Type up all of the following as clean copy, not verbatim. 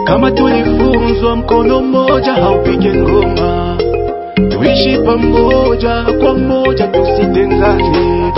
Kama tulifunzwa mkono mmoja haupige ngoma, tuishi pamoja kwa moja, tusitengane,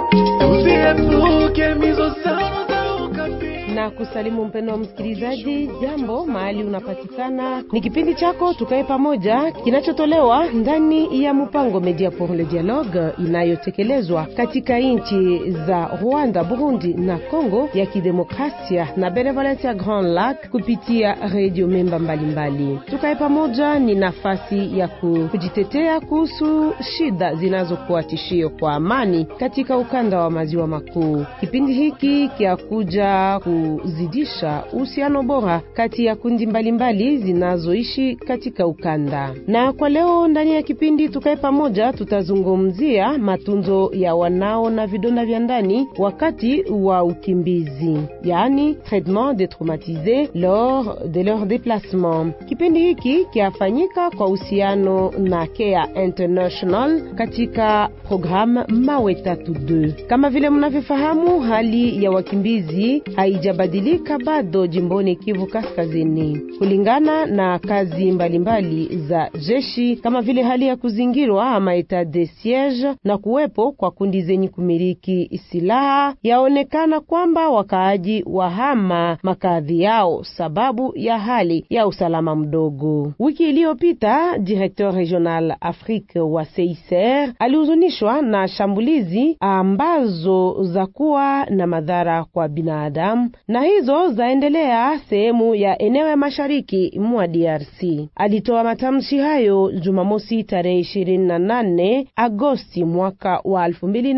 tusiepuke mizozano za ukabila. Na kusalimu mpendo wa msikilizaji, jambo mahali unapatikana. Ni kipindi chako Tukae Pamoja kinachotolewa ndani ya mpango Media pour le Dialogue inayotekelezwa katika nchi za Rwanda, Burundi na Kongo ya Kidemokrasia na Benevolencia Grand Lac kupitia radio memba mbalimbali. Tukae Pamoja ni nafasi ya kujitetea kuhusu shida zinazokuwa tishio kwa amani katika ukanda wa maziwa makuu. Kipindi hiki kiakuja kuzidisha uhusiano bora kati ya kundi mbalimbali zinazoishi katika ukanda. Na kwa leo ndani ya kipindi Tukae Pamoja tutazungumzia matunzo ya wanao na vidonda vya ndani wakati wa ukimbizi, yani traitement des traumatisés lors de leur déplacement. Kipindi hiki kiafanyika kwa uhusiano na Care International katika programu Mawe 32. Kama vile mnavyofahamu, hali ya wakimbizi haijabadilika bado jimboni Kivu Kaskazini, kulingana na kazi mbalimbali za jeshi, kama vile hali ya kuzingirwa ama etat de siege na kuwepo kwa kundi zenye kumiliki silaha. Yaonekana kwamba wakaaji wahama makazi yao sababu ya hali ya usalama mdogo. Wiki iliyopita directeur regional Afrique wa CICR alihuzunishwa na shambulizi ambazo za kuwa na madhara kwa binadamu, na hizo zaendelea sehemu ya eneo ya mashariki mwa DRC. Alitoa matamshi hayo Jumamosi tarehe 28 Agosti mwaka wa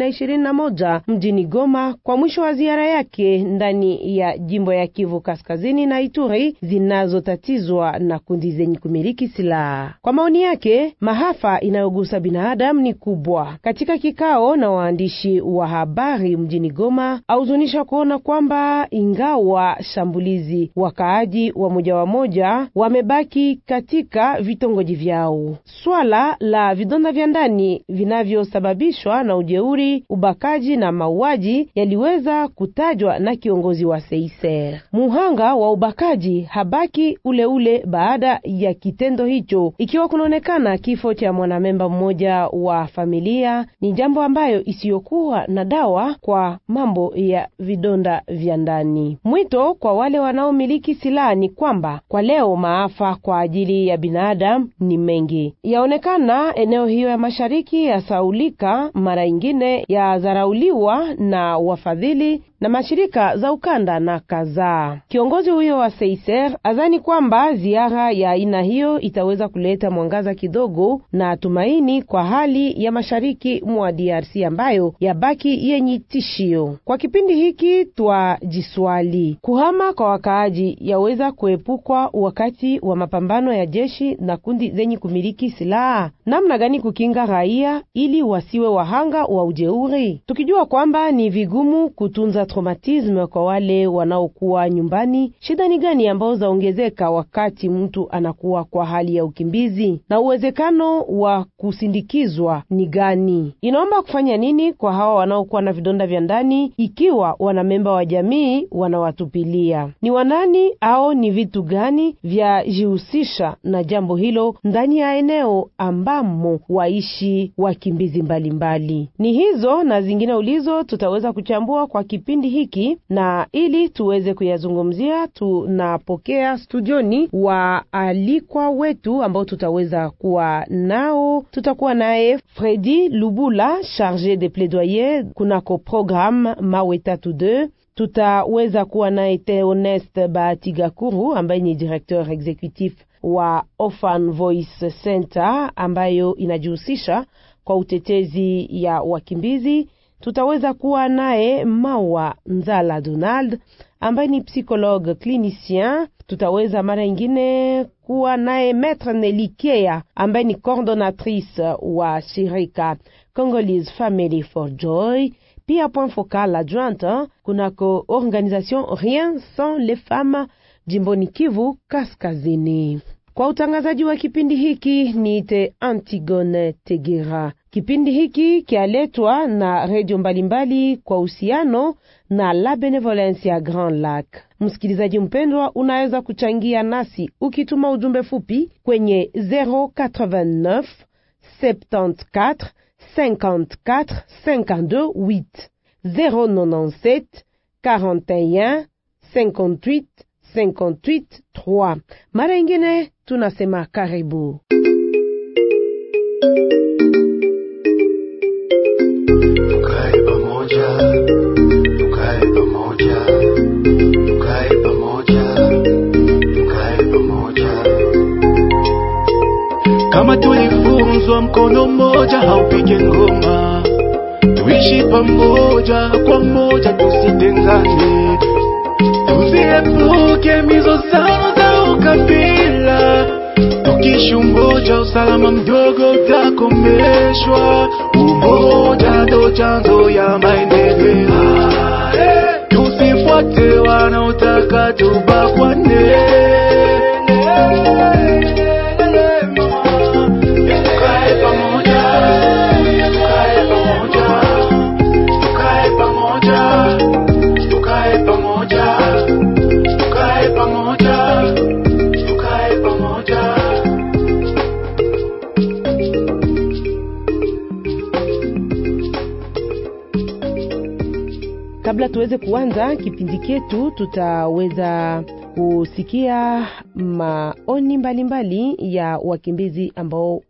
2021 mjini Goma kwa mwisho wa ziara yake ndani ya jimbo ya Kivu Kaskazini na Ituri zinazotatizwa na kundi zenye kumiliki silaha. Kwa maoni yake, mahafa inayogusa binadamu ni kubwa. Katika kikao na waandishi wa habari mjini Goma, auzunisha kuona kwamba ingawa shambulizi, wakaaji wa moja wamebaki katika vitongoji vyao. Swala la vidonda vya ndani vinavyosababishwa na ujeuri, ubakaji na mauaji yaliweza kutajwa na kiongozi wa CICR. Muhanga wa ubakaji habaki ule baada ya kitendo hicho, ikiwa kunaonekana kifo cha mwanamemba mmoja wa familia. Ni jambo ambayo isiyokuwa na dawa kwa mambo ya vidonda vya ndani. Mwito kwa wale wanaomiliki silaha ni kwamba kwa leo maafa kwa ajili ya binadamu ni mengi. Yaonekana eneo hiyo ya mashariki ya saulika, mara ingine ya zarauliwa na wafadhili na mashirika za ukanda na kadhaa. Kiongozi huyo wa CICR azani kwamba ziara ya aina hiyo itaweza kuleta mwangaza kidogo na tumaini kwa hali ya mashariki mwa DRC ambayo yabaki yenye tishio. Kwa kipindi hiki twajiswali, kuhama kwa wakaaji yaweza kuepukwa wakati wa mapambano ya jeshi na kundi zenye kumiliki silaha? Namna gani kukinga raia ili wasiwe wahanga wa ujeuri, tukijua kwamba ni vigumu kutunza traumatisme kwa wale wanaokuwa nyumbani? Shida ni gani ambao zaongezeka wakati mtu anakuwa kwa hali ya ukimbizi, na uwezekano wa kusindikizwa ni gani? Inaomba kufanya nini kwa hawa wanaokuwa na vidonda vya ndani ikiwa wanamemba wa jamii wanawatupilia? Ni wanani au ni vitu gani vya jihusisha na jambo hilo ndani ya eneo ambamo waishi wakimbizi mbalimbali? Ni hizo na zingine ulizo tutaweza kuchambua kwa kipindi hiki, na ili tuweze kuyazungumzia tunapokea studioni waalikwa wetu ambao tutaweza kuwa nao. Tutakuwa naye Fredy Lubula, chargé de plaidoyer kunako programme Mawe 32. Tutaweza kuwa naye Theoneste Batigakuru ambaye ni directeur executif wa Orphan Voice Center ambayo inajihusisha kwa utetezi ya wakimbizi. Tutaweza kuwa naye Mawa Nzala Donald ambaye ni psychologue clinicien. Tutaweza mara ingine kuwa naye Maître Nelikea ambaye ni coordonnatrice wa shirika Congolese Family for Joy, pia point focal adjointe kunako organisation Rien sans les femmes jimboni Kivu Kaskazini. Kwa utangazaji wa kipindi hiki niite Antigone Tegera. Kipindi hiki kialetwa na radio mbalimbali kwa uhusiano na La Benevolencia Grand Lac. Msikilizaji mpendwa, unaweza kuchangia nasi ukituma ujumbe fupi kwenye 089 74 54 52 8 097 41 58 58 3. Mara ingine tunasema karibu. Tukae pamoja, tukae pamoja, tukae pamoja, tukae pamoja. Kama tulifunzwa mkono mmoja haupige ngoma, tuishi pamoja kwa moja, tusitengane, tusiepuke mizozano za ukabila. Tukiishi umoja, usalama mdogo utakomeshwa. Umoja ndo chanzo ya maendeleo. Tusifuate wanaotaka tubakwane. Tukae pamoja, tukae pamoja, tukae pamoja, tukae pamoja, tukae pamoja, tukae pamoja. Kabla tuweze kuanza kipindi chetu, tutaweza kusikia maoni mbalimbali ya wakimbizi ambao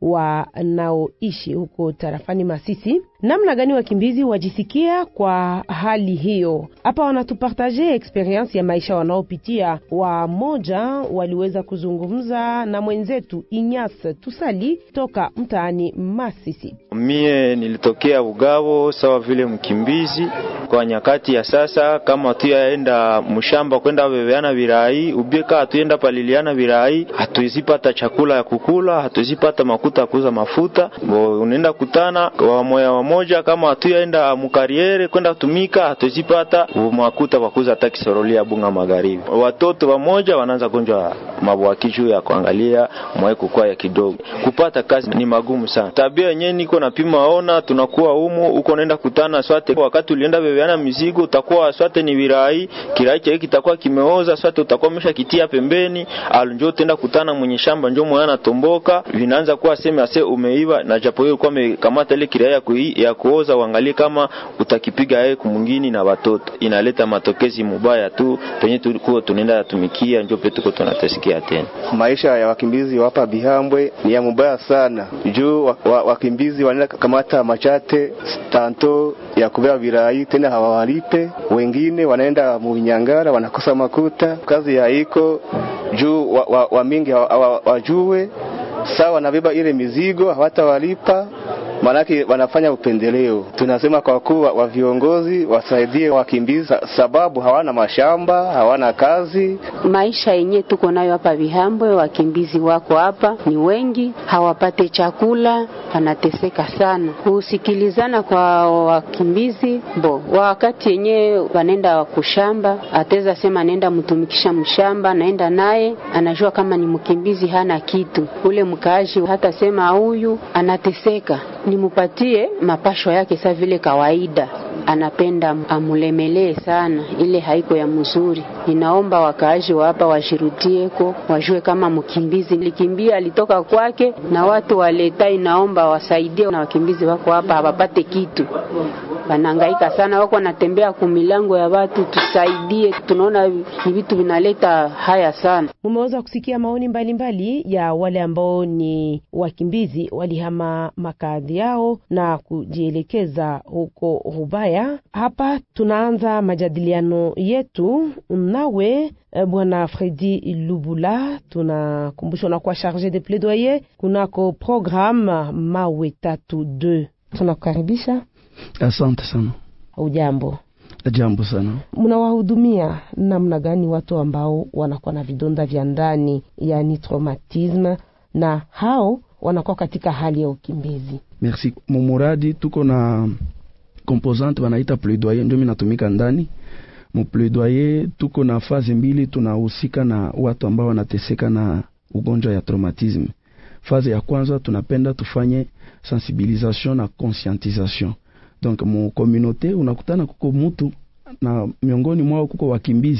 wanaoishi huko tarafani Masisi. Namna gani wakimbizi wajisikia kwa hali hiyo? Hapa wanatupartager experience ya maisha wanaopitia. Wamoja waliweza kuzungumza na mwenzetu Inyas Tusali toka mtaani Masisi. Mie nilitokea Bugabo sawa vile mkimbizi. Kwa nyakati ya sasa, kama tuyaenda mshamba kwenda bebeana birai, ubieka tuenda paliliana birai, hatuizipata chakula ya kukula, hatuizipata makuta kuuza mafuta. Unaenda kutana wamoja kama tuyaenda mukariere kwenda tumika, hatuizipata makuta kuuza hata kisorolia bunga magharibi. Watoto wamoja wanaanza gonjwa mabwakichu ya kuangalia mweko kwa ya kidogo. Kupata kazi ni magumu sana. Tabia yenyewe niko napima ona, tunakuwa humo uko naenda kutana swate. Wakati ulienda bebeana mizigo utakuwa swate ni virai, kirai chake kitakuwa kimeoza, swate utakuwa umeshakitia pembeni, alonjo utaenda kutana mwenye shamba njoo mwana tomboka, vinaanza kuwa sema ase umeiva, na japo hiyo kwa amekamata ile kirai ya kuoza, uangalie kama utakipiga yeye kumungini na watoto. Inaleta matokezi mubaya tu, penye tulikuwa tunaenda tumikia njoo petu tuko tunatesikia tena. Maisha ya wakimbizi hapa Bihambwe ni ya mubaya sana. Juu wakimbizi wanaenda kamata machate tanto ya kubeba virai tena hawawalipe. Wengine wanaenda mubinyangara wanakosa makuta. Kazi ya iko juu wa mingi wajue sawa wanabeba ile mizigo hawatawalipa, manake wanafanya upendeleo. Tunasema kwa kuwa wa viongozi wasaidie wakimbizi sababu hawana mashamba, hawana kazi. Maisha yenyewe tuko nayo hapa Bihambwe, wakimbizi wako hapa ni wengi, hawapate chakula, wanateseka sana. Kusikilizana kwa wakimbizi wakati yenyewe wanaenda kushamba, ateza sema nenda mtumikisha mshamba, naenda naye anajua kama ni mkimbizi hana kitu. Ule mkaaji hata sema huyu anateseka, nimupatie mapasho yake sa vile kawaida, anapenda amulemelee sana, ile haiko ya mzuri. Ninaomba wakaaji wa hapa washirutieko, wajue kama mkimbizi likimbia alitoka kwake, na watu waleta inaomba wasaidie na wakimbizi wako hapa hawapate kitu. Wanangaika sana, wako wanatembea kumilango ya watu, tusaidie. Tunaona ni vitu vinaleta haya sana. Mumeweza kusikia maoni mbalimbali ya wale ambao ni wakimbizi walihama makazi yao na kujielekeza huko Rubaya. Hapa tunaanza majadiliano yetu nawe Bwana Fredi Lubula. Tunakumbushwa na kwa charge de plaidoyer kunako programme Mawe 32. Tunakukaribisha. Asante sana. Ujambo? Jambo sana. Mnawahudumia namna gani watu ambao wanakuwa na vidonda vya ndani, yani traumatisme, na hao wanakuwa katika hali ya ukimbizi? Merci. Mumuradi tuko na composante wanaita plaidoyer, ndio mimi natumika ndani. Mu plaidoyer tuko na fazi mbili, tunahusika na watu ambao wanateseka na ugonjwa ya traumatisme. Fazi ya kwanza tunapenda tufanye sensibilisation na conscientisation. Donc mu communauté unakutana kuko mtu na miongoni mwao kuko wakimbizi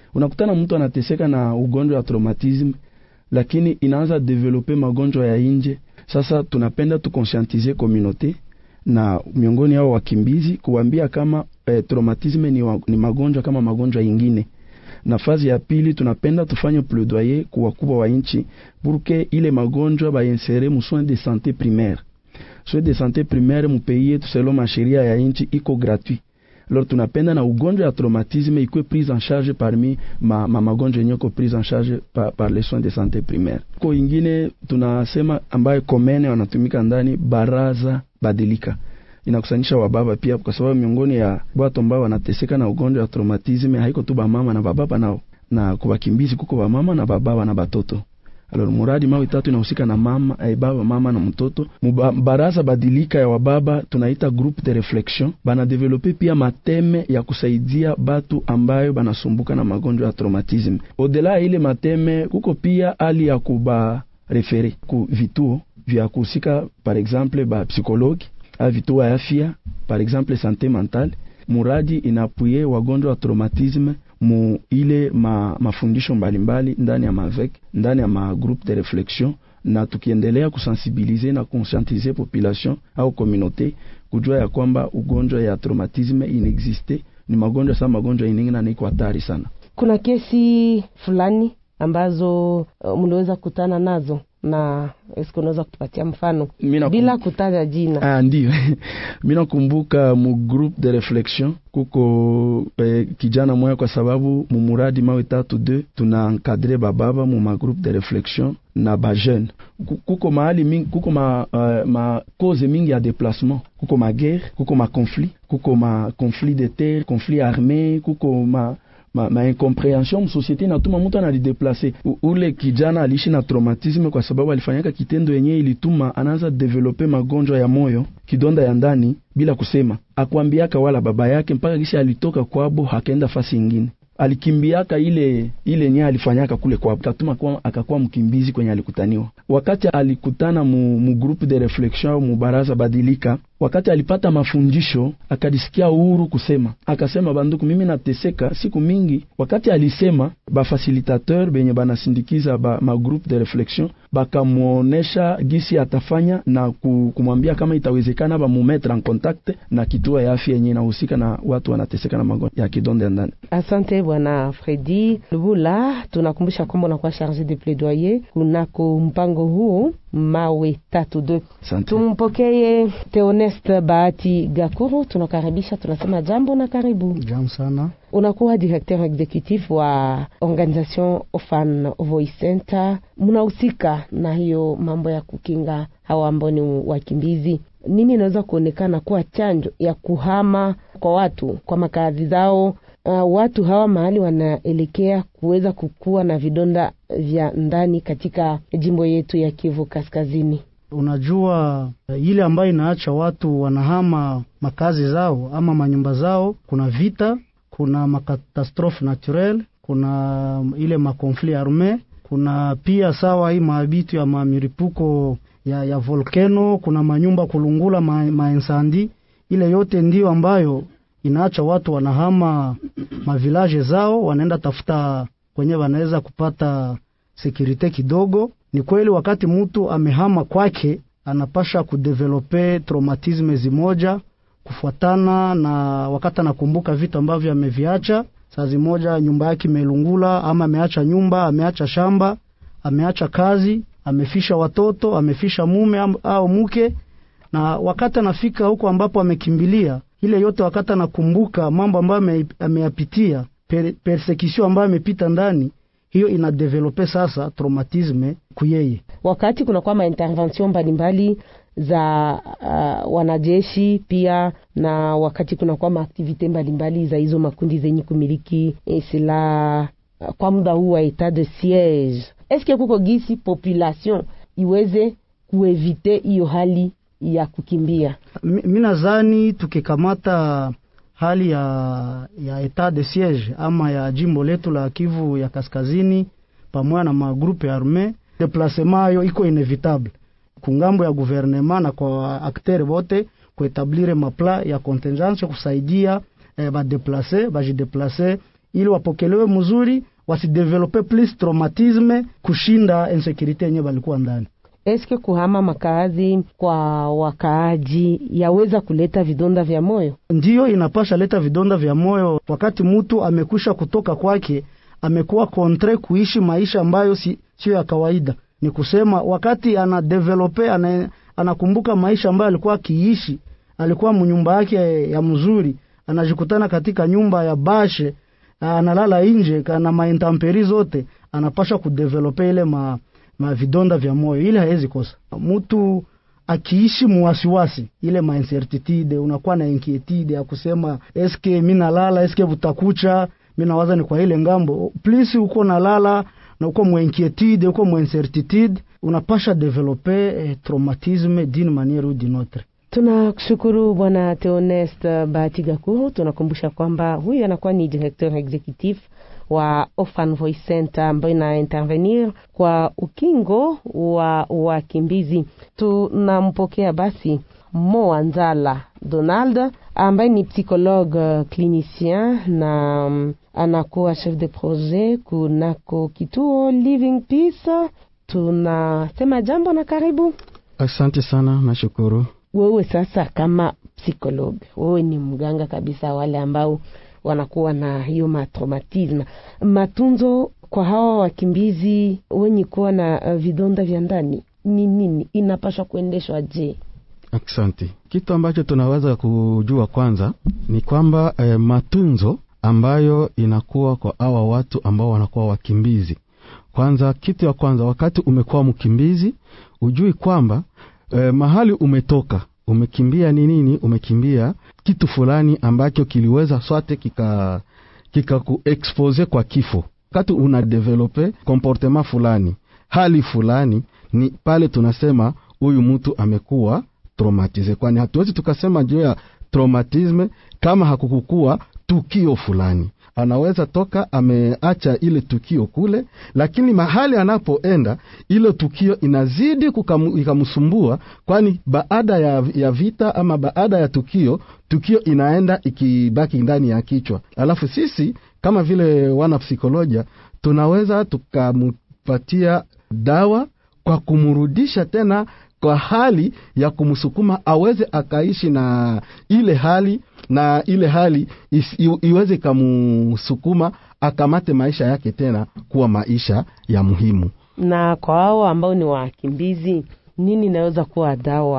Unakutana mtu anateseka na ugonjwa wa traumatism, lakini inaanza developer magonjwa ya nje. Sasa tunapenda tuconscientiser communauté na miongoni yao wakimbizi kuambia kama traumatism ni magonjwa kama magonjwa yingine. Na fazi ya pili tunapenda tufanye plaidoyer kwa wakubwa wa nchi pour que ile magonjwa ba insere mu soins de santé primaire. Soins de santé primaire mu pays yetu selon masheria ya nchi iko gratuit. Alors tunapenda na ugonjwa ya traumatisme ikuwe prise en charge parmi magonjwa nyoko prise en charge par les soins de santé primaire. Kwa ingine tunasema ambaye komene wanatumika ndani baraza badilika. Inakusanyisha wababa pia kwa sababu miongoni ya watu ambao wanateseka na ugonjwa wa traumatisme haiko tu mama na baba nao, na kwa wakimbizi kuko mama na baba na batoto. Alors muradi mawe tatu inahusika na mama, baba, mama na mtoto. Baraza badilika ya wababa tunaita groupe de réflexion, bana developer pia mateme ya kusaidia batu ambayo banasumbuka na magonjwa ya traumatisme. Odela ile mateme kuko pia hali ya kuba refere ku vituo vya kuhusika, par exemple ba psychologue a vituo ya afya, par exemple santé mentale. Muradi inapuye wagonjwa wa traumatisme mu ile mafundisho mbalimbali ndani ya mavek, ndani ya groupe de réflexion, na tukiendelea kusensibiliser na conscientiser population au communauté kujua ya kwamba ugonjwa ya traumatisme inexiste, ni magonjwa sama magonjwa ingine na ni hatari sana. Kuna kesi fulani ambazo mliweza kutana nazo na esko unaweza kutupatia mfano bila kutaja jina? Ndio. Mimi nakumbuka mu groupe de réflexion kuko kijana mmoja, kwa sababu mu muradi mawe 3-2 tuna encadrer bababa mu groupe de réflexion na ba jeune. Kuko mahali mingi, kuko ma cause mingi ya déplacement, kuko ma guerre, kuko ma conflit, kuko ma conflit de terre, conflit armé, kuko ma incompréhension société na tuma mtu analideplace. Ule kijana alishi na traumatisme kwa sababu alifanyaka kitendo yenyewe ilituma anaanza developer magonjwa ya moyo, kidonda ya ndani bila kusema. Akwambiaka wala baba yake mpaka kisha alitoka kwabo hakaenda fasi nyingine. Alikimbiaka ile nye alifanyaka kule kwa katuma kwa akakuwa mkimbizi kwenye alikutaniwa. Wakati alikutana mu groupe de réflexion mu baraza badilika, wakati alipata mafundisho akadisikia uhuru kusema. Akasema banduku, mimi nateseka siku mingi. Wakati alisema ba facilitateur benye banasindikiza ma groupe de réflexion bakamuonesha gisi atafanya na kumwambia kama itawezekana ba mu mettre en contact na kituo ya afya yenyewe inahusika na watu wanateseka na magonjwa ya kidonda ndani. Asante bwana Fredi Lubula, tunakumbusha kwamba unakuwa chargé de plaidoyer kunako mpango huu mawe 3-2. Tumpokee Theoneste Bahati Gakuru, tunakaribisha, tunasema jambo na karibu. Jambo sana. Unakuwa directeur executif wa Organisation Orphan Voice Center. Mnahusika na hiyo mambo ya kukinga hawa ambao ni wakimbizi. Nini inaweza kuonekana kuwa chanjo ya kuhama kwa watu kwa makazi zao? Watu hawa mahali wanaelekea kuweza kukua na vidonda vya ndani katika jimbo yetu ya Kivu Kaskazini. Unajua ile ambayo inaacha watu wanahama makazi zao ama manyumba zao, kuna vita, kuna makatastrophe naturel, kuna ile makonflit arme, kuna pia sawa hii maabitu ya mamiripuko ya volcano, kuna manyumba kulungula, mainsandi. Ile yote ndio ambayo inaacha watu wanahama mavilaje zao, wanaenda tafuta kwenye wanaweza kupata security kidogo. Ni kweli wakati mtu amehama kwake anapasha kudevelope traumatisme zimoja kufuatana na wakati anakumbuka vitu ambavyo ameviacha. Saa zimoja nyumba yake imelungula, ama ameacha nyumba, ameacha shamba, ameacha kazi, amefisha watoto, amefisha mume au mke, na wakati anafika huko ambapo amekimbilia, ile yote wakati anakumbuka mambo ambayo ameyapitia, persecution ambayo amepita ndani, hiyo inadevelope sasa traumatisme kuyeye. Wakati kuna kwa intervention mbalimbali za wanajeshi pia, na wakati kuna kwa activite mbalimbali za hizo makundi zenye kumiliki silaha kwa muda huu wa etat de siege, eske kuko gisi population iweze kuevite hiyo hali ya kukimbia? Mimi nadhani tukikamata hali ya etat de siege ama ya jimbo letu la Kivu ya Kaskazini pamoja na magrupe arme, déplacement yo iko inevitable kungambo ya gouvernement na kwa acteur wote kuetablire mapla ya contingence kusaidia ba déplacer, ba jideplacer ili wapokelewe mzuri, wasidevelope plus traumatisme kushinda insecurity yenyewe walikuwa ndani. Eske kuhama makazi kwa wakaaji yaweza kuleta vidonda vya moyo? Ndiyo, inapasha leta vidonda vya moyo. Wakati mtu amekusha kutoka kwake, amekuwa kontre kuishi maisha ambayo sio ya kawaida. Ni kusema wakati anadevelope, anakumbuka maisha ambayo alikuwa akiishi, alikuwa mnyumba yake ya mzuri, anajikutana katika nyumba ya bashe, analala nje kana maintemperi zote, anapasha kudevelope ile vidonda vya moyo. Ile haezi kosa. Mtu akiishi muwasiwasi, ile incertitude, unakuwa na inquietude ya kusema eske mimi nalala, eske butakucha, mimi nawaza ni kwa ile ngambo. Please uko nalala na uko inquietude, uko incertitude, unapasha developer traumatisme d'une manière ou d'une autre. Tunakushukuru Bwana Theoneste Batigakuru. Tunakumbusha kwamba huyu anakuwa ni directeur executif wa Orphan Voice Center ambayo ina intervenir kwa ukingo wa wakimbizi. Tunampokea basi Moa Nzala Donald ambaye ni psychologue clinicien na anakuwa chef de projet kunako kituo Living Peace. Tunasema jambo na karibu. Asante sana, nashukuru. Wewe sasa kama psychologue, wewe ni mganga kabisa wale ambao wanakuwa na hiyo traumatism. Matunzo kwa hawa wakimbizi wenye kuwa na vidonda vya ndani ni nini? Inapaswa kuendeshwa je? Asante. Kitu ambacho tunaweza kujua kwanza ni kwamba matunzo ambayo inakuwa kwa hawa watu ambao wanakuwa wakimbizi. Kwanza, kitu ya kwanza, wakati umekuwa mkimbizi, ujui kwamba mahali umetoka, umekimbia nini? Umekimbia kitu fulani ambacho kiliweza sote kika kuexpose kwa kifo. Wakati una develope comportement fulani, hali fulani, ni pale tunasema huyu mtu amekuwa traumatize. Kwani hatuwezi tukasema juu ya traumatisme kama hakukukua tukio fulani. Anaweza toka ameacha ile tukio kule, lakini mahali anapoenda ile tukio inazidi ikamsumbua, kwani baada ya vita ama baada ya tukio inaenda ikibaki ndani ya kichwa. Alafu sisi kama vile wana psikolojia tunaweza tukampatia dawa kwa kumrudisha tena kwa hali ya kumsukuma aweze akaishi na ile hali, na ile hali iweze kumsukuma akamate maisha yake tena kuwa maisha ya muhimu. Na kwa hao ambao ni wakimbizi, nini naweza kuwa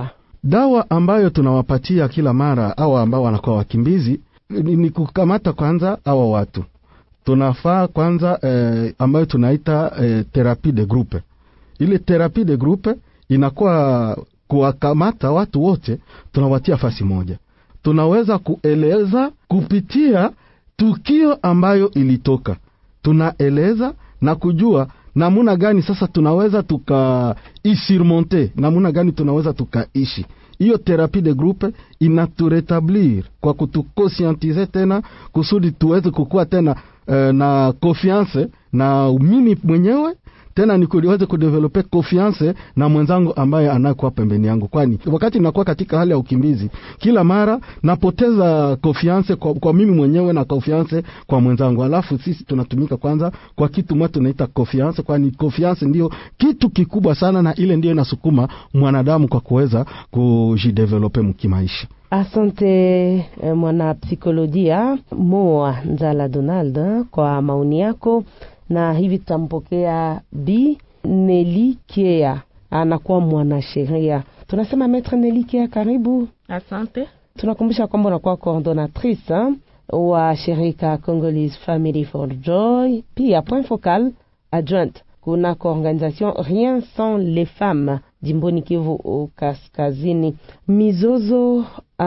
dawa ambayo tunawapatia kila mara au ambao wanakuwa wakimbizi ni kukamata kwanza hawa watu. Tunafaa kwanza ambayo tunaita therapie de groupe. Ile therapie de groupe inakuwa kuwakamata watu wote, tunawatia fasi moja. Tunaweza kueleza kupitia tukio ambayo ilitoka. Tunaeleza na kujua namuna gani sasa tunaweza tukaisurmonte, namuna gani tunaweza tukaishi. Hiyo therapie de groupe inaturetablir kwa kutukonscientize tena kusudi tuweze kukua tena na confiance na mimi mwenyewe, tena nikuweze kudevelope confiance na mwenzangu ambaye anakuwa pembeni yangu. Kwani wakati ninakuwa katika hali ya ukimbizi, kila mara napoteza confiance kwa mimi mwenyewe na confiance kwa mwenzangu. Alafu sisi tunatumika kwanza kwa kitu mmoja tunaita confiance, kwani confiance ndio kitu kikubwa sana, na ile ndio inasukuma mwanadamu kwa kuweza kujidevelope mkimaisha. Asante mwana psikolojia Moa Nzala Donald kwa maoni yako. Na hivi tutampokea Bi Nelly Kea, anakuwa mwanasheria. Tunasema Maître Nelly Kea, karibu. Asante. Tunakumbusha kwamba unakuwa coordinatrice wa shirika Congolese Family for Joy, pia point focal adjointe kuna organisation Rien sans les femmes jimboni Kivu Kaskazini. Mizozo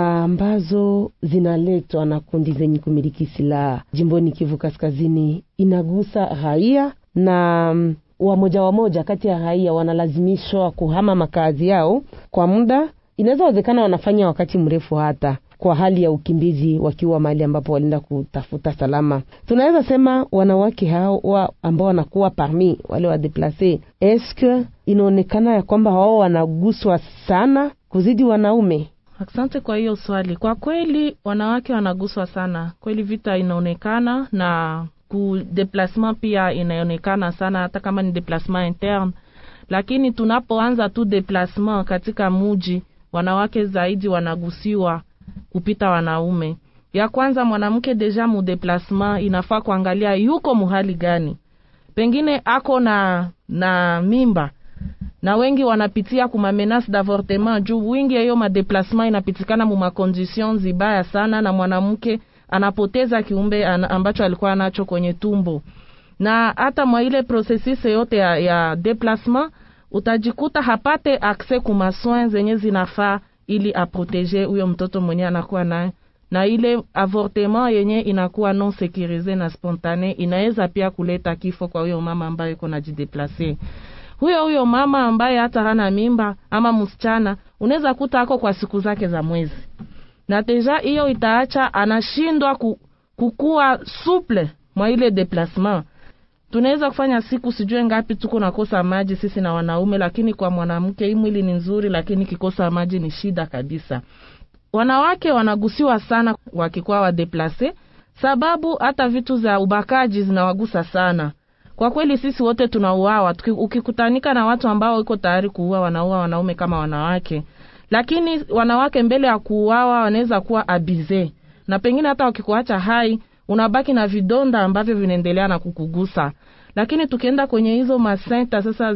ambazo zinaletwa na kundi zenye kumiliki silaha jimboni Kivu Kaskazini inagusa raia, na wamoja kati ya raia wanalazimishwa kuhama makazi yao kwa muda. Inaweza wezekana wanafanya wakati mrefu hata kwa hali ya ukimbizi wakiwa mahali ambapo walinda kutafuta salama. Tunaweza sema wanawake hao ambao wanakuwa parmi wale wa deplace, eske inaonekana ya kwamba wao wanaguswa sana kuzidi wanaume? Asante kwa hiyo swali. Kwa kweli wanawake wanaguswa sana. Kweli vita inaonekana, na ku déplacement pia inaonekana sana, hata kama ni déplacement interne. Lakini tunapoanza tu déplacement katika muji, wanawake zaidi wanagusiwa kupita wanaume. Ya kwanza, mwanamke deja mu déplacement inafaa kuangalia yuko muhali gani. Pengine ako na mimba, na wengi wanapitia kuma menace d'avortement juu wingi hiyo ma déplacement inapitikana mu conditions zibaya sana, na mwanamke anapoteza kiumbe ambacho alikuwa nacho kwenye tumbo. Na hata mwa ile processus yote ya déplacement utajikuta hapate accès kuma soins zenye zinafaa ili aproteger huyo mtoto mwenye anakuwa naye, na ile avortement yenye inakuwa non sécurisé na spontané inaweza pia kuleta kifo kwa huyo mama ambaye yuko najideplacer. Huyo mama ambaye hata hana mimba ama msichana unaweza kuta ako kwa siku zake za mwezi, na deja hiyo itaacha anashindwa kukua souple mwa ile déplacement. Tunaweza kufanya siku sijue ngapi tuko nakosa maji sisi na wanaume, lakini kwa mwanamke hii mwili ni nzuri, lakini kikosa maji ni shida kabisa. Wanawake wanagusiwa sana wakikuwa wa déplacer, sababu hata vitu za ubakaji zinawagusa sana. Kwa kweli sisi wote tunauawa, ukikutanika na watu ambao wako tayari kuua, wanaua wanaume kama wanawake. Lakini wanawake mbele ya kuuawa wanaweza kuwa abize, na pengine hata wakikuacha hai unabaki na vidonda ambavyo vinaendelea na kukugusa. Lakini tukienda kwenye hizo masenta sasa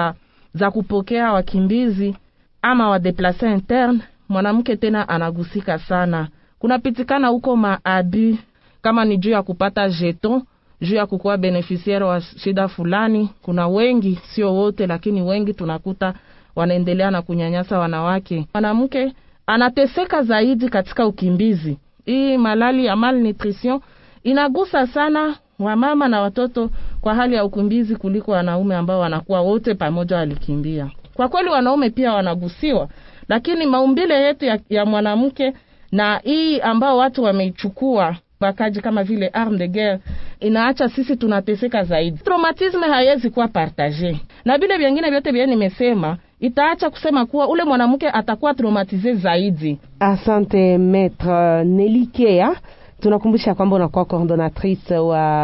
za kupokea wakimbizi ama wa déplacer interne, mwanamke tena anagusika sana. Kunapitikana huko maabi, kama ni juu ya kupata jeton, juu ya kukuwa beneficiaire wa shida fulani. Kuna wengi, sio wote, lakini wengi tunakuta wanaendelea na kunyanyasa wanawake. Mwanamke anateseka zaidi katika ukimbizi. Hii malali ya malnutrition inagusa sana wamama na watoto kwa hali ya ukimbizi kuliko wanaume ambao wanakuwa wote pamoja walikimbia. Kwa kweli wanaume pia wanagusiwa, lakini maumbile yetu ya mwanamke na hii ambao watu wameichukua bakaji kama vile arme de guerre inaacha sisi tunateseka zaidi. Traumatisme haiwezi kuwa partage, na vile vingine vyote vile nimesema itaacha kusema kuwa ule mwanamke atakuwa traumatize zaidi. Asante Maître Nelikea. Tunakumbusha kwamba unakuwa coordinatrice wa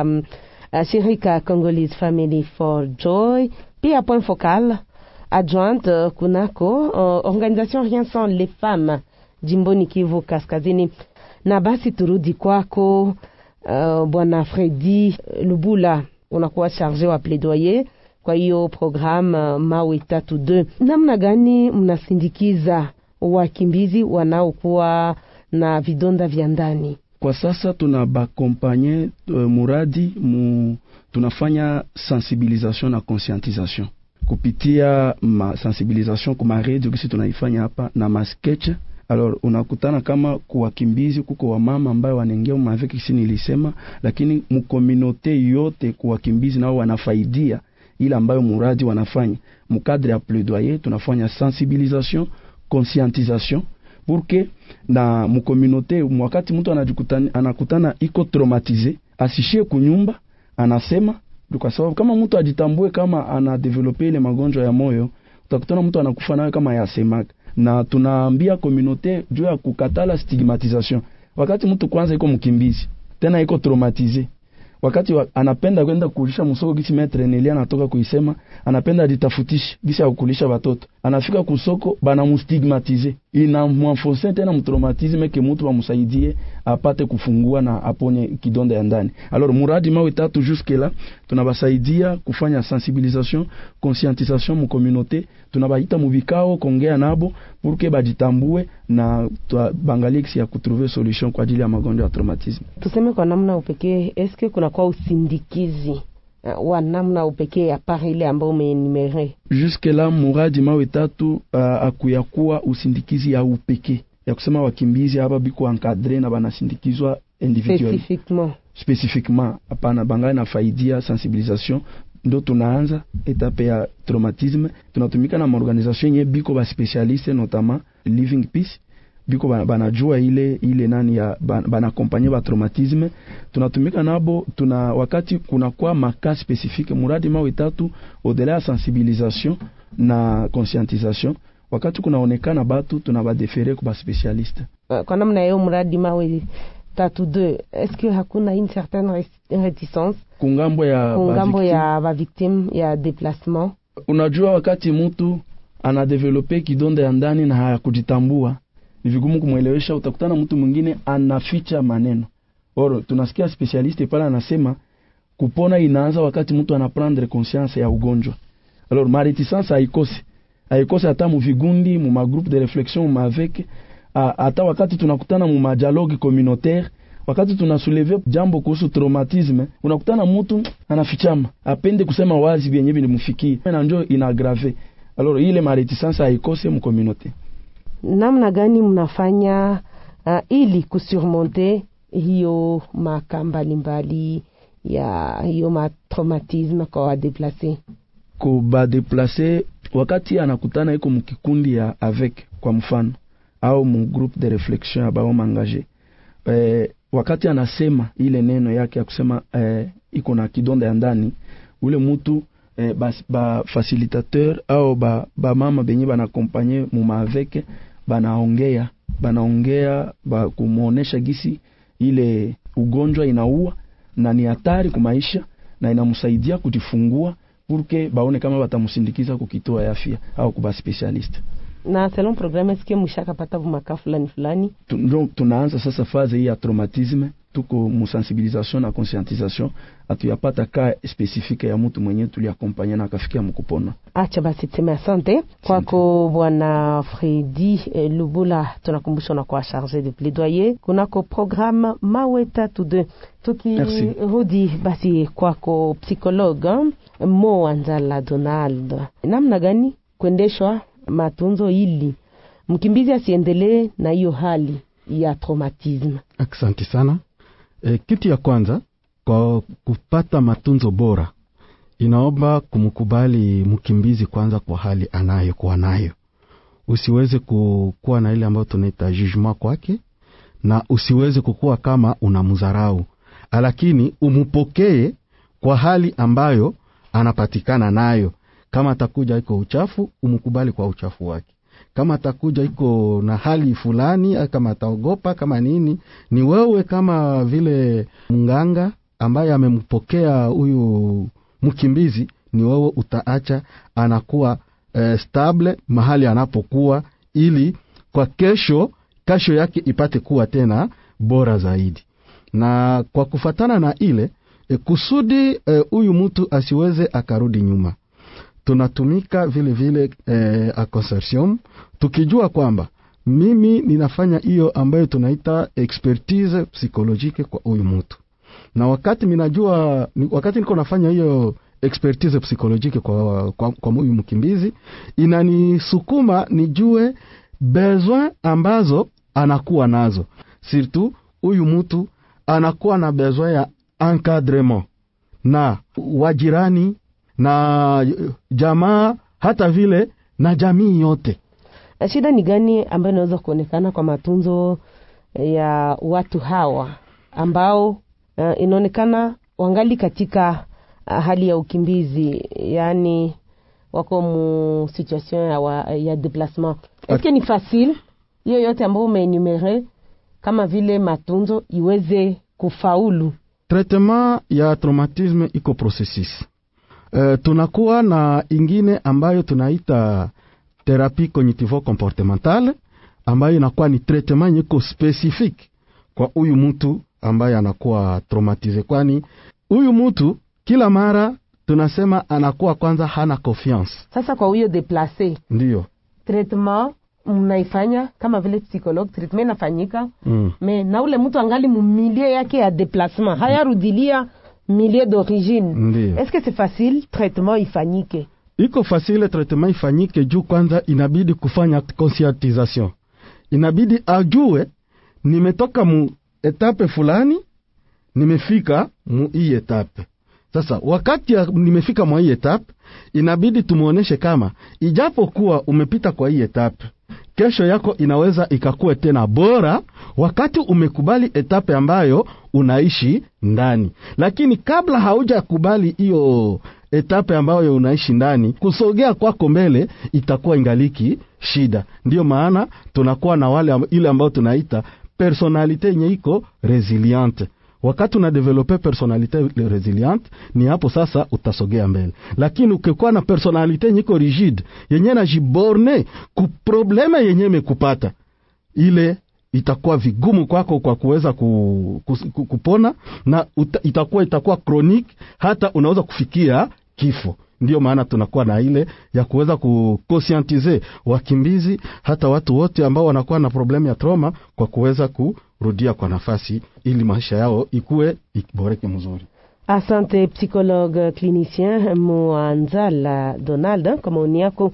shirika Congolese Family for Joy, pia point focal adjointe kunako organisation Rien sans les femmes jimboni Kivu Kaskazini. Na basi turudi kwako Bwana Fredi Lubula, unakuwa chargé wa plaidoyer kwa hiyo programme Mawe 32. Namna gani mnasindikiza wakimbizi wanaokuwa na vidonda vya ndani? Kwa sasa tunabakompanye muradi tunafanya sensibilisation na conscientisation kupitia sensibilisation kuma radio kisi tunaifanya hapa na masketch. Alors unakutana kama kuwakimbizi kuko wa mama ambayo wanaingia maveki kisi nilisema, lakini mkominote yote kuwakimbizi nao wanafaidia ile ambayo muradi wanafanya. Mukadre ya plaidoyer tunafanya sensibilisation, conscientisation pour que na mkominote wakati mtu anakutana iko traumatize asishie kunyumba, anasema kwa sababu kama mtu ajitambue kama ana develop ile magonjwa ya moyo, utakutana mtu anakufa nayo kama yasemaka. Na tunaambia communauté juu ya kukatala stigmatisation. Wakati mtu kwanza iko mkimbizi, tena iko traumatize, wakati anapenda kwenda kulisha msoko gisi Maître Nelia anatoka kuisema, anapenda ajitafutishe gisi ya kulisha watoto, anafika kusoko bana mustigmatize, ina mwanfonse tena mtraumatisme ke mtu bamsaidie apate kufungua na aponye kidonda ya ndani. Alors muradi Mawe 3 jusque là tunabasaidia kufanya sensibilisation, conscientisation mu communauté, tunabaita mu vikao kongea nabo pour que bajitambue na bangalie kisi ya kutrouver solution kwa ajili ya magonjwa ya traumatisme. Tuseme kwa namna upekee, eske kuna kwa usindikizi wa namna upekee ya pari ile ambao umenimere? Jusque là muradi Mawe 3 akuyakuwa usindikizi ya upekee ya kusema wakimbizi hapa biko encadré na banasindikizwa individuel spécifiquement hapana, bangai na faidia sensibilisation. Ndo tunaanza etape ya traumatisme, tunatumika na organisation yenye biko ba specialiste notamment Living Peace, biko banajua ile nani ya bana accompagner ba traumatisme. Tunatumika nabo, wakati kuna kwa maka spécifique muradi Mawe 3 au-delà ya sensibilisation na conscientisation, wakati kunaonekana batu tunabadefere kwa specialiste. Kwa namna hiyo muradi Mawe tatu 2, est-ce que hakuna une certaine réticence kungambo ya ba victime ya déplacement? Unajua, wakati mtu anadevelope kidonda ya ndani na hayakujitambua, ni vigumu kumuelewesha. Utakutana mtu mwingine anaficha maneno. Oro, tunasikia specialiste pala anasema kupona inaanza wakati mtu anaprendre conscience ya ugonjwa. Alors ma réticence haikose hata mu vigundi, mu magroupe de réflexion, mu avec hata wakati tunakutana mu dialogue communautaire, wakati tunasoulever jambo kuhusu traumatisme, unakutana mtu anafichama, apende kusema wazi vyenye vilimfikia na njoo inagrave. Alors ile ma réticence haikose mu communauté. Namna gani mnafanya ili kusurmonter hiyo makamba mbalimbali ya hiyo matraumatisme kwa déplacer? Ko ba déplacer wakati anakutana iko mkikundi ya avec, kwa mfano, au mu groupe de réflexion abao mangaje, wakati anasema ile neno yake ya kusema iko na kidonda ya ndani, ule mtu ba facilitateur au ba mama benye bana accompagner mu avec banaongea ba kumuonesha gisi ile ugonjwa inaua na ni hatari kwa maisha na inamsaidia kujifungua, porque baone kama batamusindikiza kukitoa ya afya au kuba specialist. Na selon programme est-ce que mshaka pata vumaka fulani? Donc tunaanza sasa phase hii ya traumatisme, tuko mu sensibilisation na conscientisation, atuyapata ka specifique ya mtu mwenye tuliakompanya na akafikia mkupona. Acha basi teme asante kwako bwana Fredi Lubula. Tunakumbusha na kwa chargé de plaidoyer kunako programme Maweta to 2. Tukirudi basi kwako psychologue Moanzala Donald, namna gani kuendeshwa matunzo ili mkimbizi asiendelee na hiyo hali ya traumatisme? Asante sana. Kitu ya kwanza, kwa kupata matunzo bora, inaomba kumkubali mkimbizi kwanza kwa hali anayokuwa nayo. Usiweze kuwa na ile ambayo tunaita jugement kwake, na usiweze kukua kama unamdharau, lakini umupokee kwa hali ambayo anapatikana nayo. Kama atakuja iko uchafu, umkubali kwa uchafu wake. Kama atakuja iko na hali fulani, kama ataogopa, kama nini, ni wewe kama vile mganga ambaye amempokea huyu mkimbizi, ni wewe utaacha anakuwa stable mahali anapokuwa, ili kwa kesho yake ipate kuwa tena bora zaidi. Na kwa kufatana na ile kusudi huyu mtu asiweze akarudi nyuma, tunatumika vile a consortium, tukijua kwamba mimi ninafanya hiyo ambayo tunaita expertise psychologique kwa huyu mtu. Na wakati niko nafanya hiyo expertise psychologique kwa huyu mkimbizi, inanisukuma nijue besoin ambazo anakuwa nazo. Surtout huyu mtu anakuwa na besoin ya encadrement na wajirani na jamaa, hata vile na jamii yote. Shida ni gani ambayo inaweza kuonekana kwa matunzo ya watu hawa ambao inaonekana wangali katika hali ya ukimbizi, yani wako mu situation ya déplacement? Est-ce que ni facile hiyo yote ambayo umenumere kama vile matunzo iweze kufaulu? Traitement ya traumatisme iko processus. Tunakuwa na ingine ambayo tunaita thérapie cognitivo-comportementale, ambayo inakuwa ni traitement nyiko specifique kwa huyu mtu ambaye anakuwa traumatize. Kwani huyu mtu kila mara tunasema anakuwa kwanza hana confiance. Sasa kwa huyo déplacé, ndio traitement mnaifanya kama vile psychologue, treatment inafanyika me na ule mtu angali mumilie yake ya déplacement, hayarudilia milieu d'origine. Est-ce que c'est facile traitement ifanyike? Iko facile traitement ifanyike juu kwanza inabidi kufanya conscientisation. Inabidi ajue nimetoka mu etape fulani, nimefika mu hii etape. Sasa wakati nimefika mu hii etape, inabidi tumuoneshe kama ijapokuwa umepita kwa hii etape, kesho yako inaweza ikakuwa tena bora wakati umekubali etape ambayo unaishi ndani. Lakini kabla hauja kubali hiyo etape ambayo unaishi ndani, kusogea kwako mbele itakuwa ingaliki shida. Ndio maana tunakuwa na wale ile ambao tunaita personalite yenye iko resiliente. Wakati una develope personalite resiliente, ni hapo sasa utasogea mbele. Lakini ukikuwa na personalite yenye iko rigide, yenye na jiborne ku probleme yenye mekupata, ile itakuwa vigumu kwako kwa kuweza kupona, na itakuwa chronique, hata unaweza kufikia kifo. Ndio maana tunakuwa na ile ya kuweza kuconscientiser wakimbizi, hata watu wote ambao wanakuwa na problemu ya trauma, kwa kuweza kurudia kwa nafasi ili maisha yao iboreke mzuri. Asante psychologue clinicien Mwanzala Donald kwa maoni yako.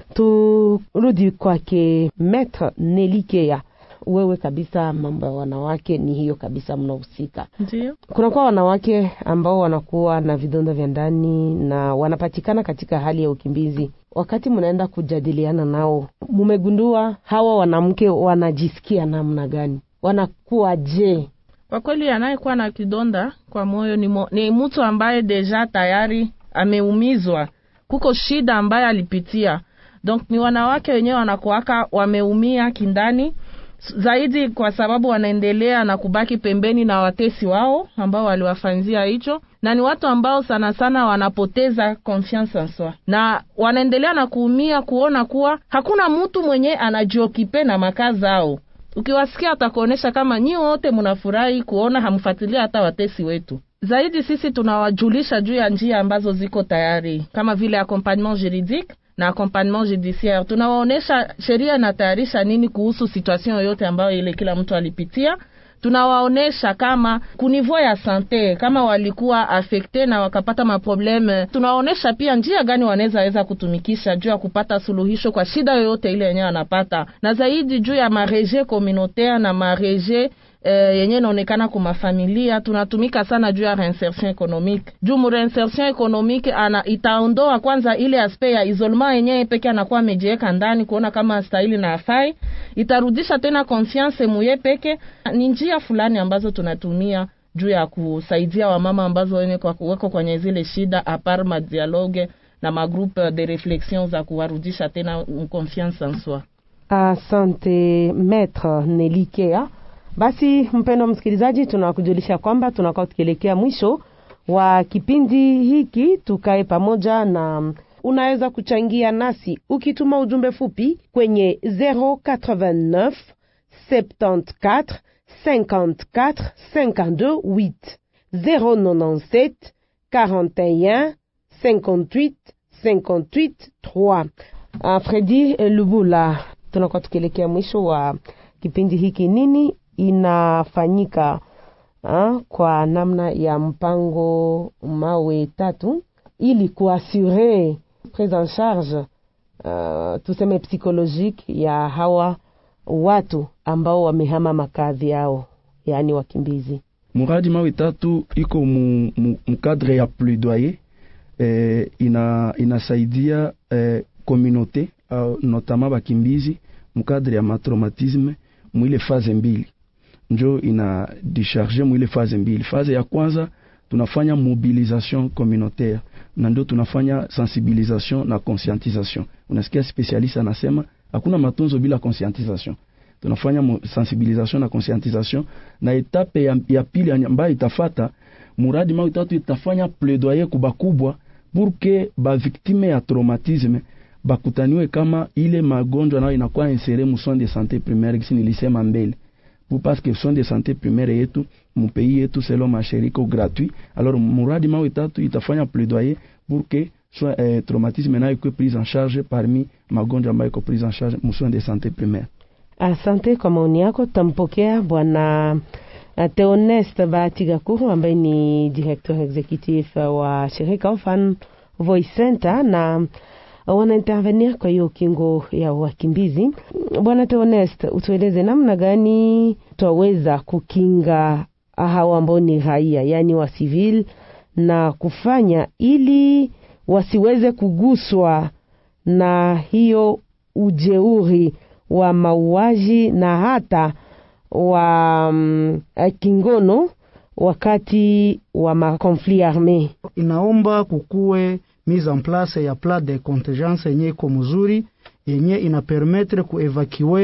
Turudi kwake Maître Nelikea. Wewe kabisa, mambo ya wanawake ni hiyo kabisa, mnahusika. Ndio. Kuna kwa wanawake ambao wanakuwa na vidonda vya ndani na wanapatikana katika hali ya ukimbizi. Wakati mnaenda kujadiliana nao, mumegundua hawa wanamke wanajisikia namna gani? Wanakuwa je? Kwa kweli anayekuwa na kidonda kwa moyo ni mtu ambaye deja tayari ameumizwa. Kuko shida ambaye alipitia. Donc ni wanawake wenyewe wanakuwaka wameumia kindani zaidi, kwa sababu wanaendelea na kubaki pembeni na watesi wao ambao waliwafanzia hicho, na ni watu ambao sana sana wanapoteza confiance en soi, na wanaendelea na kuumia kuona kuwa hakuna mtu mwenye anajiokipe na makazi zao. Ukiwasikia atakuonesha kama nyi wote mnafurahi kuona hamfuatilia hata watesi wetu. Zaidi sisi tunawajulisha juu ya njia ambazo ziko tayari, kama vile accompagnement juridique na accompagnement judiciaire. Tunawaonesha sheria inatayarisha nini kuhusu situation yoyote ambayo ile kila mtu alipitia. Tunawaonesha kama kunivyo ya sante, kama walikuwa affecté na wakapata maprobleme, tunawaonesha pia njia gani wanaweza kutumikisha juu ya kupata suluhisho kwa shida yoyote ile yenyewe wanapata. Na zaidi juu ya mareje communautaire na mareje yenye inaonekana kwa mafamilia, tunatumika sana juu ya reinsertion économique. Juu mu reinsertion économique itaondoa kwanza ile aspect ya isolement yenyewe peke anakuwa amejiweka ndani kuona kama stahili na afai, itarudisha tena confiance muye peke. Ni njia fulani ambazo tunatumia juu ya kusaidia wamama ambazo wako kwenye zile shida, apart ma dialogue na ma groupe de réflexion za kuwarudisha tena confiance en soi. Asante Maître Nelikea. Basi mpendo msikilizaji, tunakujulisha kwamba tunakuwa tukielekea mwisho wa kipindi hiki. Tukae pamoja, na unaweza kuchangia nasi ukituma ujumbe fupi kwenye 089 74 54 52 8 097 41 58 58 3. Fredi Lubula, tunakuwa tukielekea mwisho wa kipindi hiki. Nini inafanyika kwa namna ya mpango mawe 3 ili kuassure prise en charge tuseme psychologique ya hawa watu ambao wamehama makazi yao, yani wakimbizi? Muradi mawe 3 iko mkadre ya plaidoyer, inasaidia communauté notamment bakimbizi mkadre ya matraumatisme mwile faze mbili. Njo ina décharger mwile faze mbili. Faze ya kwanza tunafanya mobilisation communautaire, na ndio tunafanya sensibilisation na conscientisation. Unasikia specialist anasema hakuna matunzo bila conscientisation. Tunafanya sensibilisation na conscientisation, na etape ya pili ambayo itafata muradi mawe 3 itafanya plaidoyer kubakubwa pour que ba victime ya traumatisme bakutaniwe kama ile magonjwa nayo inakuwa insere mu soins de santé primaire, kisi nilisema mbele, parce que soins de santé primaire yetu mu pays yetu selon mashirika gratuit. Alors muradi mawe 3 itafanya plaidoyer pour que traumatisme nayo iko prise en charge parmi magonjwa ambayo iko prise en charge mu soins de santé primaire. Asante kwa maoni yako. Tampokea bwana Theoneste Batigakuru ambaye ni directeur executif wa shirika Orphan Voice Center na wana intervenir kwa hiyo kingo ya wakimbizi. Bwana Theoneste, utueleze namna gani tuweza kukinga hawa ambao ni raia, yani wa civil, na kufanya ili wasiweze kuguswa na hiyo ujeuri wa mauaji na hata wa kingono wakati wa makonflit armé. Inaomba kukue mise en place ya plan de contingence yenye iko mzuri, yenye ina permettre kuevacuer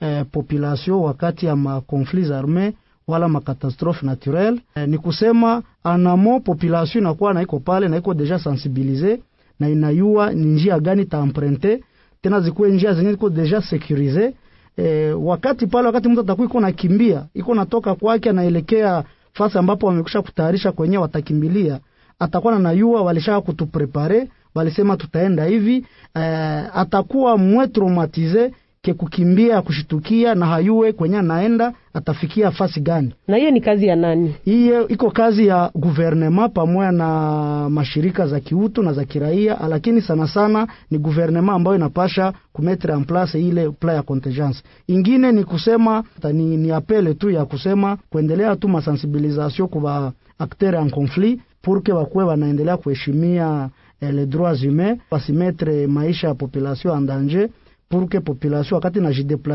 population wakati ya ma conflits armés wala makatastrophe naturel. Ni kusema anamo population inakuwa na iko pale na iko deja sensibiliser na inayua ni njia gani ta emprunter, tena zikuwe njia zenye iko deja sécurisé. Wakati mtu atakuwa iko nakimbia, iko natoka kwake anaelekea fasi ambapo wamekusha kutayarisha kwenye watakimbilia, atakuwa na yua walishaka kutuprepare, walisema tutaenda hivi, atakuwa mwe traumatize ke kukimbia kushitukia na hayue kwenye naenda atafikia fasi gani. Na hiyo ni kazi ya nani? Hiyo iko kazi ya gouvernement pamoja na mashirika za kiutu na za kiraia, lakini sana sana ni gouvernement ambayo inapasha kumetre en place ile plan ya contingence. Ingine ni kusema ni apele tu ya kusema kuendelea tu masensibilisation kwa acteurs en conflit pour que wakwe wanaendelea kuheshimia les droits humains, pasimetre maisha ya population en danger, pour que population wakati na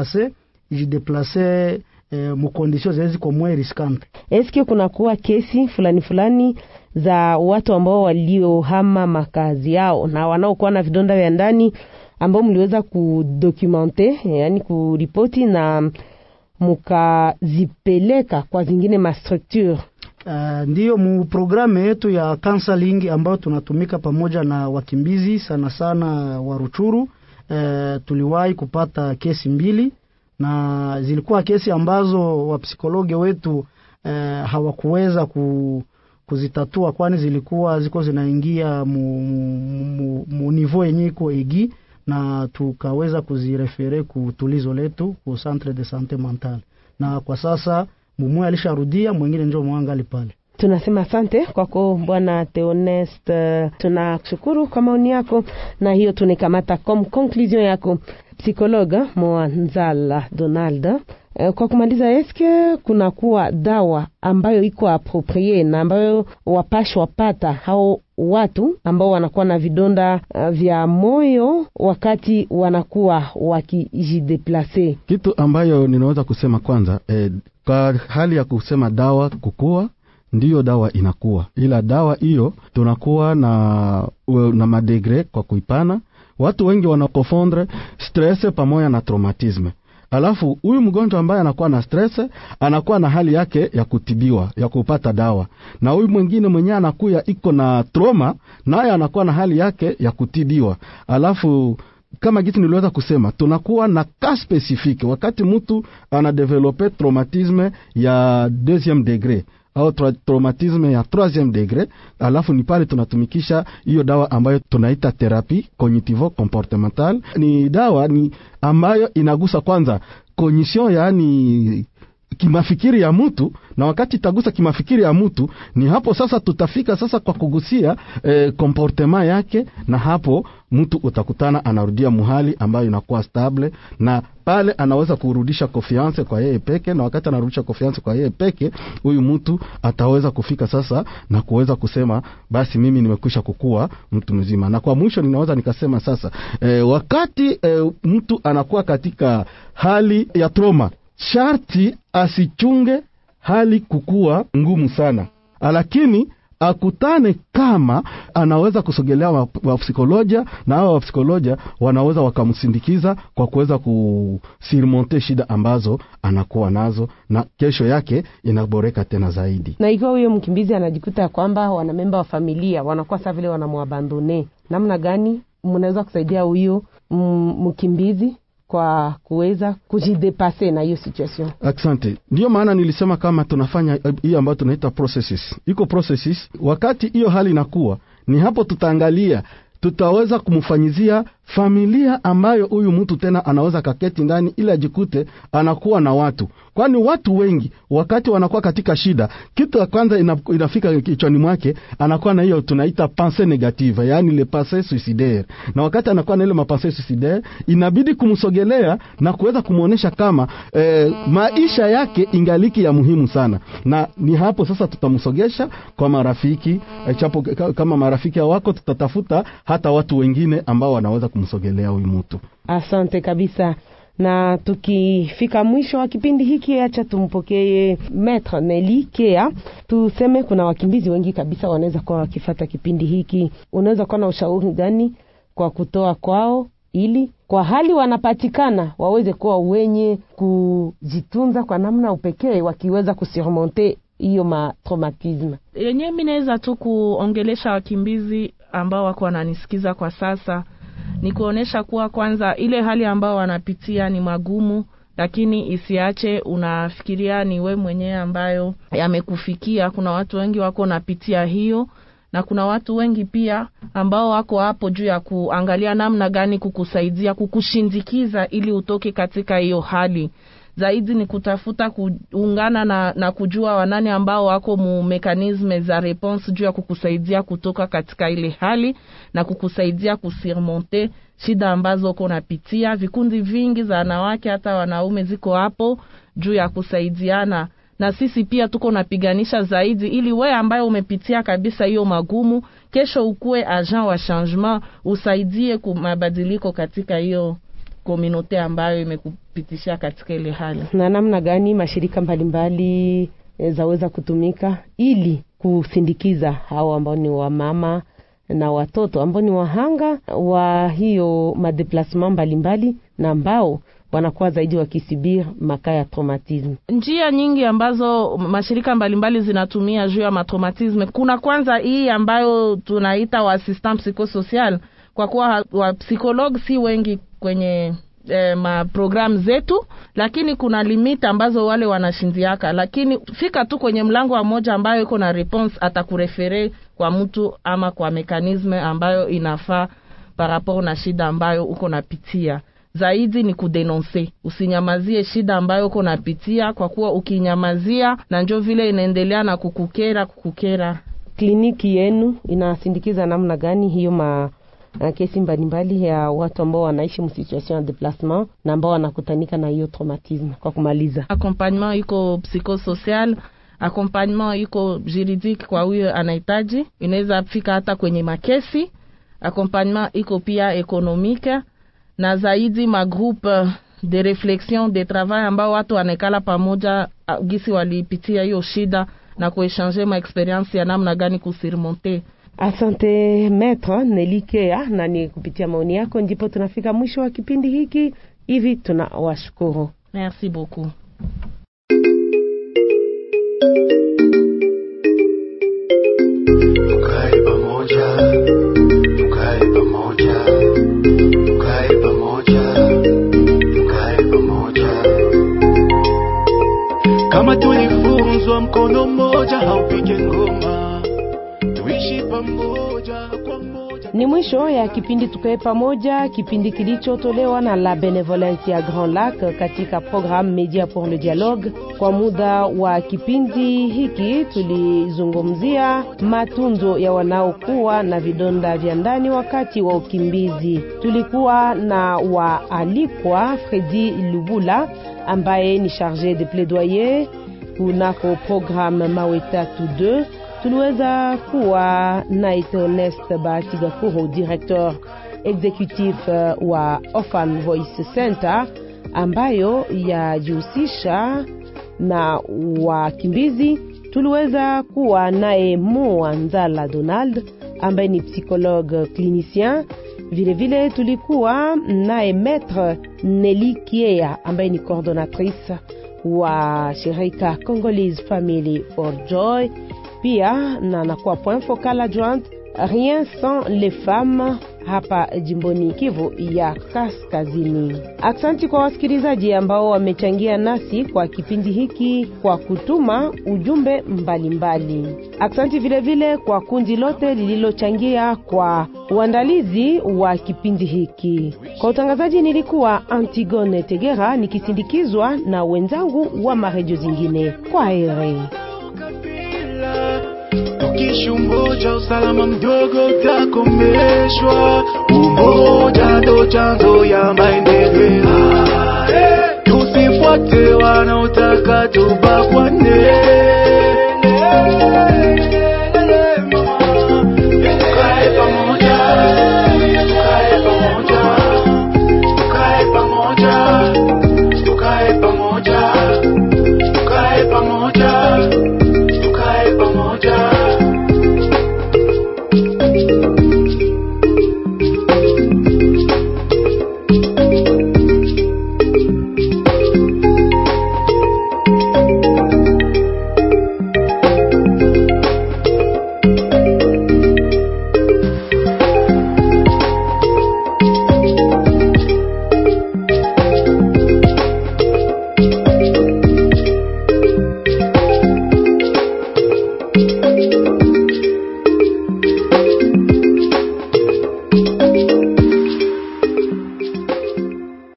jideplace mu conditions zezi kwa mwe riskante. Eske kuna kuwa kesi fulani za watu ambao waliohama makazi yao na wanaokuwa na vidonda vya ndani ambao mliweza kudocumente, yani kuripoti na mukazipeleka kwa zingine ma structure? Ndiyo mu programe yetu ya counseling ambayo tunatumika pamoja na wakimbizi sana sana wa Ruchuru. Tuliwahi kupata kesi 2 na zilikuwa kesi ambazo wapsikologe wetu hawakuweza kuzitatua, kwani ziko zinaingia mu niveau yenye iko egi, na tukaweza kuzirefere kutulizo letu ku centre de santé mentale, na kwa sasa mumwe alisharudia, mwingine njoo mwangali pale. Tunasema asante kwako Bwana Theoneste, tunakushukuru kwa maoni yako, na hiyo tunekamata comme conclusion yako psikologa Mwanzala Donald. Kwa kumaliza, eske kuna kuwa dawa ambayo iko approprié na ambayo wapashwa pata hao watu ambao wanakuwa na vidonda vya moyo wakati wanakuwa wakijideplace? Kitu ambayo ninaweza kusema kwanza, kwa hali ya kusema dawa kukua, ndiyo dawa inakuwa, ila dawa hiyo tunakuwa na madegre kwa kuipana. Watu wengi wanakofondre stress pamoja na traumatisme. Alafu huyu mgonjwa ambaye anakuwa na stress anakuwa na hali yake ya kutibiwa, ya kupata dawa, na huyu mwingine mwenyewe anakuwa iko na trauma, naye anakuwa na hali yake ya kutibiwa. Alafu kama kitu niliweza kusema, tunakuwa na cas specifique wakati mtu anadevelope traumatisme ya 2e degré au traumatisme ya 3e degré, alafu ni pale tunatumikisha hiyo dawa ambayo tunaita thérapie cognitivo comportemental. Ni dawa ambayo inagusa kwanza cognition, yani kimafikiri ya mtu, na wakati itagusa kimafikiri ya mtu, ni hapo sasa tutafika sasa kwa kugusia comportement yake, na hapo mtu utakutana anarudia muhali ambayo inakuwa stable, na pale anaweza kurudisha confiance kwa yeye peke, na wakati anarudisha confiance kwa yeye peke, huyu mtu ataweza kufika sasa na kuweza kusema basi mimi nimekwisha kukua mtu mzima. Na kwa mwisho ninaweza nikasema sasa, wakati mtu anakuwa katika hali ya trauma, sharti asichunge hali kukua ngumu sana, lakini akutane kama anaweza kusogelea wa psikolojia, na hao wa psikolojia wanaweza wakamsindikiza kwa kuweza kusurmonter shida ambazo anakuwa nazo, na kesho yake inaboreka tena zaidi. Na ikiwa huyo mkimbizi anajikuta kwamba wana memba wa familia wanakuwa sasa vile wanamwabandone, namna gani mnaweza kusaidia huyo mkimbizi kwa kuweza kujidepase na hiyo situation? Asante. Ndio maana nilisema kama tunafanya hiyo ambayo tunaita processes. Iko processes, wakati hiyo hali inakuwa, ni hapo tutaangalia tutaweza kumfanyizia familia ambayo huyu mtu tena anaweza kaketi ndani ili ajikute anakuwa na watu. Kwani watu wengi wakati wanakuwa katika shida, kitu ya kwanza inafika kichwani mwake, anakuwa na hiyo tunaita pensée négative, yani le pensée suicidaire. Na wakati anakuwa na ile pensée suicidaire, inabidi kumsogelea na kuweza kumuonesha kama maisha yake ingaliki ya muhimu sana. Na ni hapo sasa tutamsogesha kwa marafiki, chapo kama marafiki wako tutatafuta hata watu wengine ambao wanaweza kumsogelea huyu mtu. Asante kabisa. Na tukifika mwisho wa kipindi hiki, acha tumpokee Maître Nelly Kea. Tuseme kuna wakimbizi wengi kabisa wanaweza kuwa wakifuata kipindi hiki. Unaweza kuwa na ushauri gani kwa kutoa kwao ili kwa hali wanapatikana waweze kuwa wenye kujitunza kwa namna upekee, wakiweza kusurmonter hiyo matraumatisme. Yenyewe mimi naweza tu kuongelesha wakimbizi ambao wako wananisikiza kwa sasa, ni kuonesha kuwa kwanza ile hali ambao wanapitia ni magumu, lakini isiache unafikiria ni we mwenyewe ambayo yamekufikia. Kuna watu wengi wako napitia hiyo, na kuna watu wengi pia ambao wako hapo juu ya kuangalia namna gani kukusaidia, kukushindikiza ili utoke katika hiyo hali. Zaidi ni kutafuta kuungana na kujua wanani ambao wako mu mekanisme za response juu ya kukusaidia kutoka katika ile hali na kukusaidia kusurmonter shida ambazo uko napitia. Vikundi vingi za wanawake hata wanaume ziko hapo juu ya kusaidiana, na sisi pia tuko napiganisha zaidi ili we ambaye umepitia kabisa hiyo magumu, kesho ukue agent wa changement, usaidie kumabadiliko katika hiyo community ambayo imekupitisha katika ile hali. Na namna gani mashirika mbalimbali zaweza kutumika ili kusindikiza hao ambao ni wamama na watoto ambao ni wahanga wa hiyo madeplasement mbalimbali na ambao wanakuwa zaidi wakisibir makaya traumatisme? Njia nyingi ambazo mashirika mbalimbali zinatumia juu ya matraumatisme. Kuna kwanza hii ambayo tunaita wa assistant psychosocial, kwa kuwa wa psycholog si wengi kwenye program zetu, lakini kuna limit ambazo wale wanashindiaka, lakini fika tu kwenye mlango wa moja ambayo iko na response, atakurefere kwa mtu ama kwa mekanisme ambayo inafaa par rapport na shida ambayo uko napitia. Zaidi ni kudenoncer, usinyamazie shida ambayo uko napitia, kwa kuwa ukinyamazia na njoo vile inaendelea na kukukera. Kliniki yenu inasindikiza namna gani hiyo kesi mbalimbali ya watu ambao wanaishi mu situation de déplacement na ambao wanakutanika na hiyo traumatisme? Kwa kumaliza, accompagnement iko psychosocial, accompagnement iko juridique kwa huyo anahitaji, inaweza fika hata kwenye makesi. Accompagnement iko pia économique, na zaidi ma groupe de réflexion de travail ambao watu wanekala pamoja gisi walipitia hiyo shida na kuéchanger ma experience ya namna gani kusurmonter. Asante Maître Nelly Kea, na ni kupitia maoni yako ndipo tunafika mwisho wa kipindi hiki. Hivi tunawashukuru. Merci beaucoup. Tukae pamoja, tukae pamoja, tukae pamoja, tukae pamoja. Kama tulifunzwa mkono mmoja haupige ngoma, tuishi pamoja kwa moja. Ni mwisho ya kipindi Tukae Pamoja, kipindi kilichotolewa na La Benevolence ya Grand Lac katika programme Media pour le Dialogue. Kwa muda wa kipindi hiki tulizungumzia matunzo ya wanaokuwa na vidonda vya ndani wakati wa ukimbizi. Tulikuwa na waalikwa Fredi Lubula ambaye ni chargé de plaidoyer kunako programme Maweta 2. Tuliweza kuwa na Ernest Batigakuro, directeur executif wa Orphan Voice Center, ambayo yajihusisha na wakimbizi. Tuliweza kuwa naye Moanzala Donald ambaye ni psychologue clinicien. Vile vile tulikuwa naye Maître Nelly Kea ambaye ni coordonnatrice wa shirika Congolese Family for Joy, pia na nakuwa point focal adjoint Rien sans les femmes hapa jimboni Kivu ya Kaskazini. Asante kwa wasikilizaji ambao wamechangia nasi kwa kipindi hiki kwa kutuma ujumbe mbalimbali. Asante vile vile kwa kundi lote lililochangia kwa uandalizi wa kipindi hiki. Kwa utangazaji nilikuwa Antigone Tegera nikisindikizwa na wenzangu wa maredio zingine. Kwa heri. Tukishumoja usalama mdogo utakomeshwa, umoja ndo chanzo ya maendeleo. Tusifuate wanaotaka tubakwane.